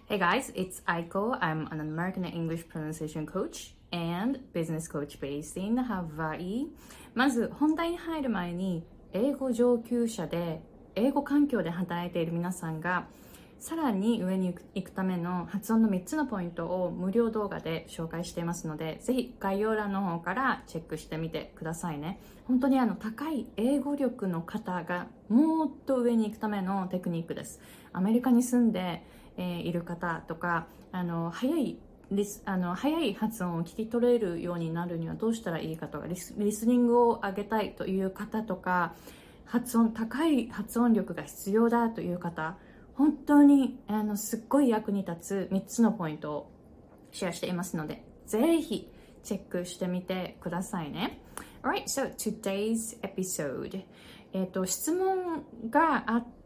Hey guys, it's Aiko. I'm an American English pronunciation coach and business coach based in Hawaii. まず本題に入る前に、英語上級者で英語環境で働いている皆さんがさらに上に行くための発音の3つのポイントを無料動画で紹介していますので、ぜひ概要欄の方からチェックしてみてくださいね。本当に高い英語力の方がもっと上に行くためのテクニックです。アメリカに住んでいる方とか、早い発音を聞き取れるようになるにはどうしたらいいかとか、リスニングを上げたいという方とか、高い発音力が必要だという方、本当にすっごい役に立つ3つのポイントをシェアしていますので、ぜひチェックしてみてくださいね。Alright, so today's episode、質問があって、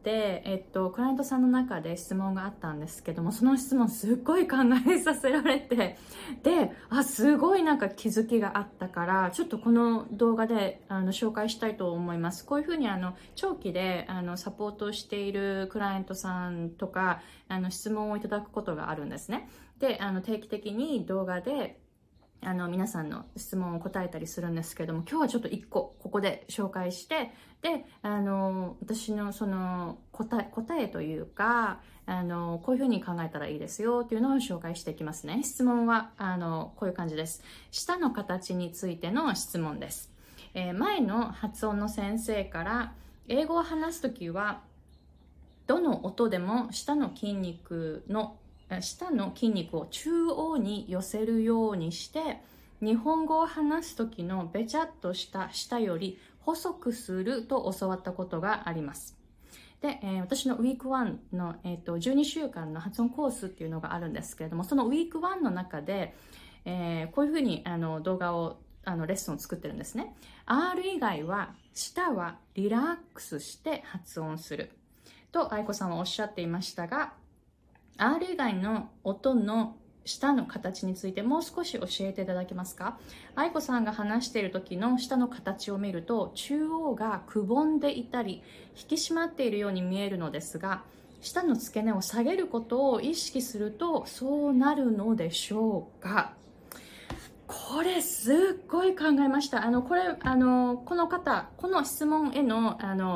クライアントさんの中で質問があったんですけども、その質問すっごい考えさせられて、ですごい気づきがあったから、ちょっとこの動画で紹介したいと思います。こういうふうに長期でサポートしているクライアントさんとか質問をいただくことがあるんですね。で、定期的に動画で皆さんの質問を答えたりするんですけども、今日はちょっと1個ここで紹介して、で私のその答えというかこういうふうに考えたらいいですよっていうのを紹介していきますね。質問はこういう感じです。舌の形についての質問です。前の発音の先生から、英語を話すときはどの音でも舌の筋肉を中央に寄せるようにして、日本語を話す時のべちゃっとした舌より細くすると教わったことがあります。で、私のウィーク1の、12週間の発音コースっていうのがあるんですけれども、そのウィーク1の中で、こういうふうに動画をレッスンを作ってるんですね。R 以外は舌はリラックスして発音すると愛子さんはおっしゃっていましたが、R 以外の音の舌の形についてもう少し教えていただけますか？愛子さんが話している時の舌の形を見ると、中央がくぼんでいたり引き締まっているように見えるのですが、舌の付け根を下げることを意識するとそうなるのでしょうか？これすっごい考えました。この質問への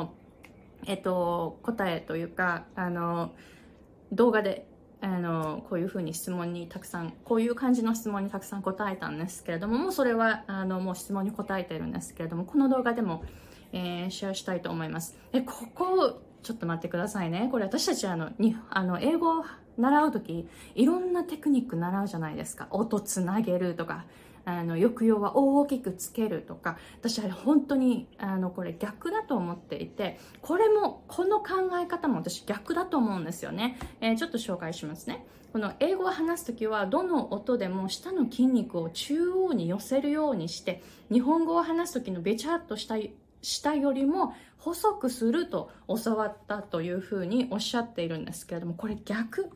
答えというか動画でこういう風にこういう感じの質問にたくさん答えたんですけれども、もうそれはもう質問に答えてるんですけれども、この動画でも、シェアしたいと思います。ここちょっと待ってくださいね。これ私たち英語を習うときいろんなテクニック習うじゃないですか。音つなげるとか、抑揚は大きくつけるとか、私は本当にこれ逆だと思っていて、この考え方も私逆だと思うんですよね。ちょっと紹介しますね。この英語を話すときはどの音でも舌の筋肉を中央に寄せるようにして、日本語を話すときのべちゃっとした舌よりも細くすると教わったというふうにおっしゃっているんですけれども、これ逆。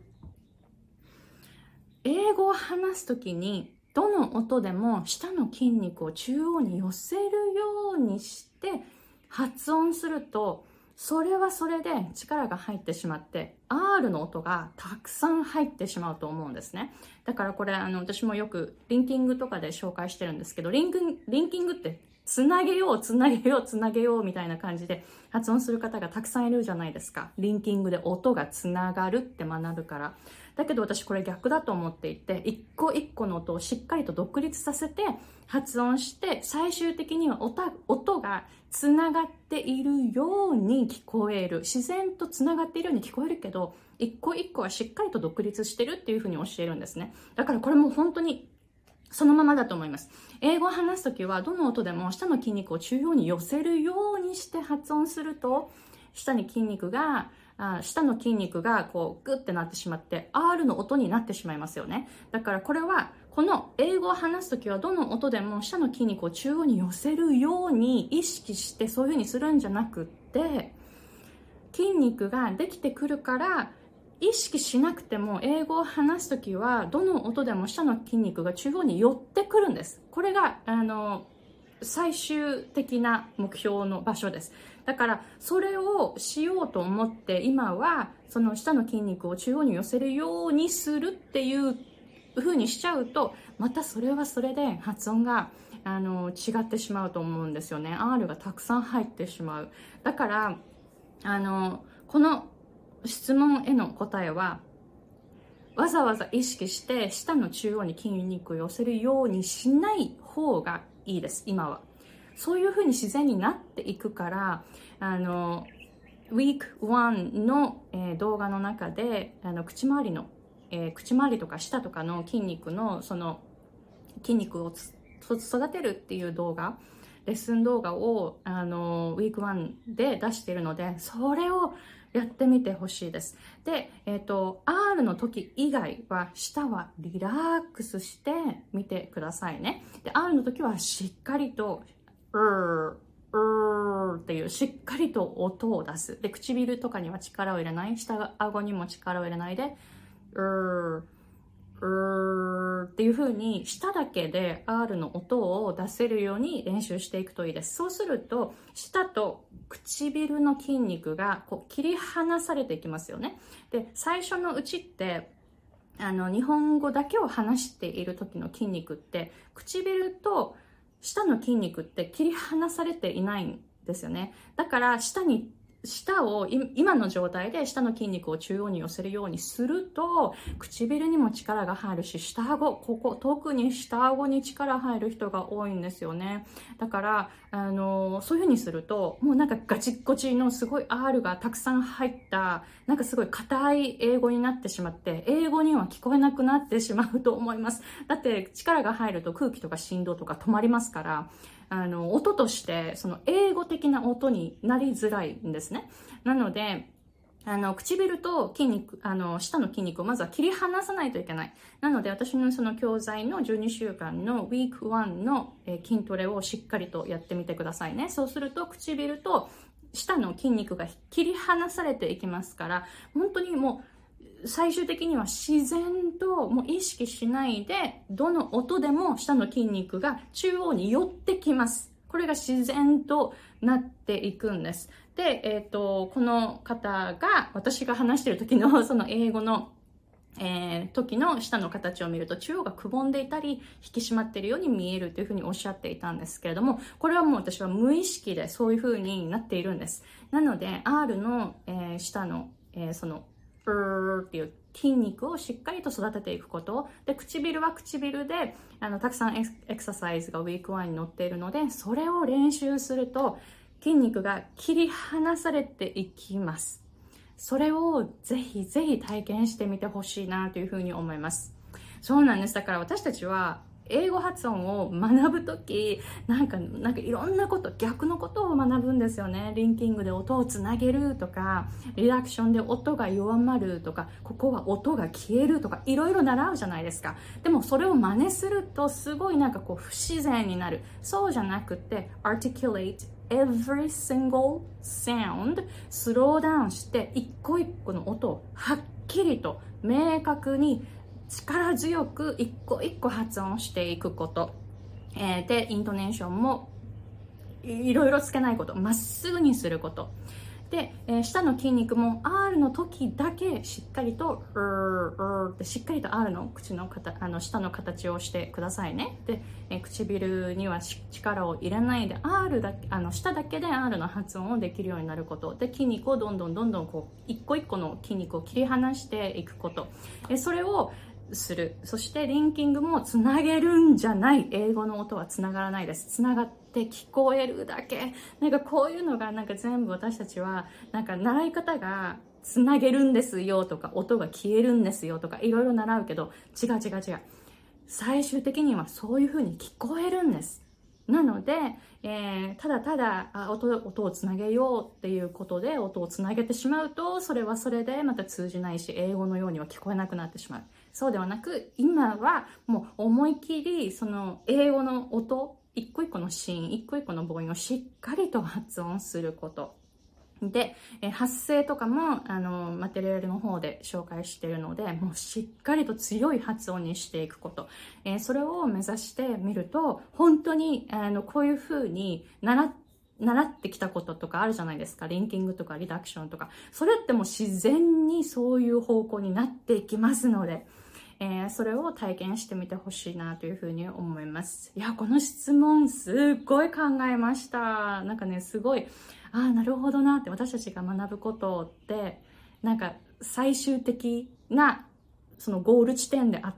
英語を話すときにどの音でも舌の筋肉を中央に寄せるようにして発音すると、それはそれで力が入ってしまって R の音がたくさん入ってしまうと思うんですね。だからこれ私もよくリンキングとかで紹介してるんですけど、リンキングってつなげようみたいな感じで発音する方がたくさんいるじゃないですか。リンキングで音がつながるって学ぶから。だけど私これ逆だと思っていて、一個一個の音をしっかりと独立させて発音して、最終的には音がつながっているように聞こえる。自然とつながっているように聞こえるけど、一個一個はしっかりと独立してるっていうふうに教えるんですね。だからこれも本当にそのままだと思います。英語を話すときはどの音でも舌の筋肉を中央に寄せるようにして発音すると、舌の筋肉がこうグッてなってしまって R の音になってしまいますよね。だからこれはこの英語を話すときはどの音でも舌の筋肉を中央に寄せるように意識してそういうふうにするんじゃなくって、筋肉ができてくるから意識しなくても英語を話すときはどの音でも舌の筋肉が中央に寄ってくるんです。これが最終的な目標の場所です。だからそれをしようと思って今はその下の筋肉を中央に寄せるようにするっていう風にしちゃうと、またそれはそれで発音が違ってしまうと思うんですよね。 R がたくさん入ってしまう。だからこの質問への答えは、わざわざ意識して下の中央に筋肉を寄せるようにしない方がいいです。今はそういう風に自然になっていくから、Week 1の、動画の中で口周りの、口周りとか舌とかの筋肉のその筋肉を育てるっていう動画、レッスン動画をWeek 1で出しているので、それをやってみてほしいです。で、R の時以外は舌はリラックスしてみてくださいね。で、R の時はしっかりとっていうしっかりと音を出す。で、唇とかには力を入れない。下顎にも力を入れないで、っていう風に舌だけで R の音を出せるように練習していくといいです。そうすると舌と唇の筋肉がこう切り離されていきますよね。で、最初のうちって日本語だけを話している時の筋肉って唇と舌の筋肉って切り離されていないんですよね。だから舌を今の状態で舌の筋肉を中央に寄せるようにすると唇にも力が入るし、下顎、特に下顎に力入る人が多いんですよね。だからそういう風にするともうなんかガチッゴチのすごい R がたくさん入ったなんかすごい硬い英語になってしまって英語には聞こえなくなってしまうと思います。だって力が入ると空気とか振動とか止まりますから、音としてその英語的な音になりづらいんですね。なので唇と筋肉、舌の筋肉をまずは切り離さないといけない。なので私のその教材の12週間の Week 1の筋トレをしっかりとやってみてくださいね。そうすると唇と舌の筋肉が切り離されていきますから、本当にもう最終的には自然ともう意識しないでどの音でも舌の筋肉が中央に寄ってきます。これが自然となっていくんです。で、この方が私が話している時のその英語の時の舌の形を見ると中央がくぼんでいたり引き締まっているように見えるというふうにおっしゃっていたんですけれども、これはもう私は無意識でそういうふうになっているんです。なので R の、舌の、そのっていう筋肉をしっかりと育てていくことで、唇は唇でたくさんエクササイズがウィーク1に載っているので、それを練習すると筋肉が切り離されていきます。それをぜひぜひ体験してみてほしいなというふうに思います。そうなんです。だから私たちは英語発音を学ぶとき、なんかいろんなこと、逆のことを学ぶんですよね。リンキングで音をつなげるとか、リダクションで音が弱まるとか、ここは音が消えるとか、いろいろ習うじゃないですか。でもそれを真似するとすごいなんかこう不自然になる。そうじゃなくて、articulate every single sound、スローダウンして一個一個の音をはっきりと明確に力強く一個一個発音していくこと、でイントネーションもいろいろつけないこと、まっすぐにすることで、下の筋肉も R の時だけしっかりとってしっかりと R の口の下の形をしてくださいね。で、唇には力を入れないで R だけ下だけで R の発音をできるようになることで、筋肉をどんどんこう一個一個の筋肉を切り離していくこと、それをする。そしてリンキングもつなげるんじゃない。英語の音はつながらないです。つながって聞こえるだけ。なんかこういうのがなんか全部私たちはなんか習い方がつなげるんですよとか音が消えるんですよとかいろいろ習うけど、違う。最終的にはそういう風に聞こえるんです。なので、ただ音をつなげようっていうことで音をつなげてしまうと、それはそれでまた通じないし、英語のようには聞こえなくなってしまう。そうではなく、今はもう思い切りその英語の音、一個一個のシーン、一個一個の母音をしっかりと発音すること。 で、発声とかも、マテリアルの方で紹介しているので、もうしっかりと強い発音にしていくこと。それを目指してみると、本当に、こういう風に習ってきたこととかあるじゃないですか。リンキングとかリダクションとか。それってもう自然にそういう方向になっていきますので、それを体験してみてほしいなというふうに思います。いや、この質問すっごい考えました。なんかね、すごい、なるほどなって私たちが学ぶことって、なんか最終的なそのゴール地点であって、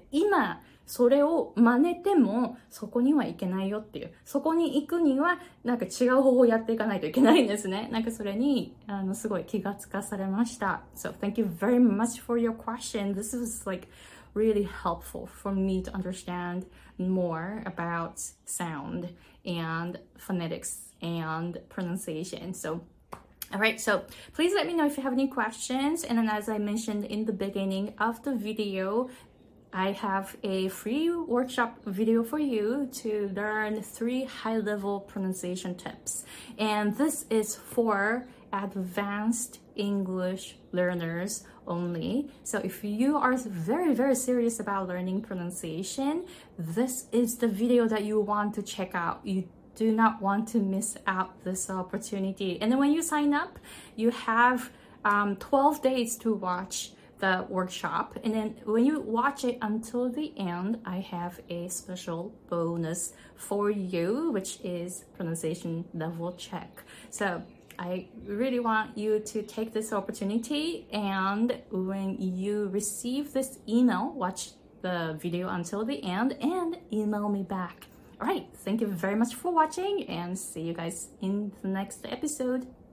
今、それを真似てもそこにはいけないよっていう。そこに行くにはなんか違う方法をやっていかないといけないんですね。なんかそれにすごい気がつかされました。So thank you very much for your question. This was like really helpful for me to understand more about sound and phonetics and pronunciation. All right, so please let me know if you have any questions. And then as I mentioned in the beginning of the video, I have a free workshop video for you to learn 3 high-level pronunciation tips. And this is for advanced English learners only. So if you are very, very serious about learning pronunciation, this is the video that you want to check out. You do not want to miss out this opportunity. And then when you sign up, you have 12 days to watch the workshop, and then when you watch it until the end, I have a special bonus for you, which is pronunciation level check. So I really want you to take this opportunity, and when you receive this email, watch the video until the end and email me back. All right, thank you very much for watching, and see you guys in the next episode.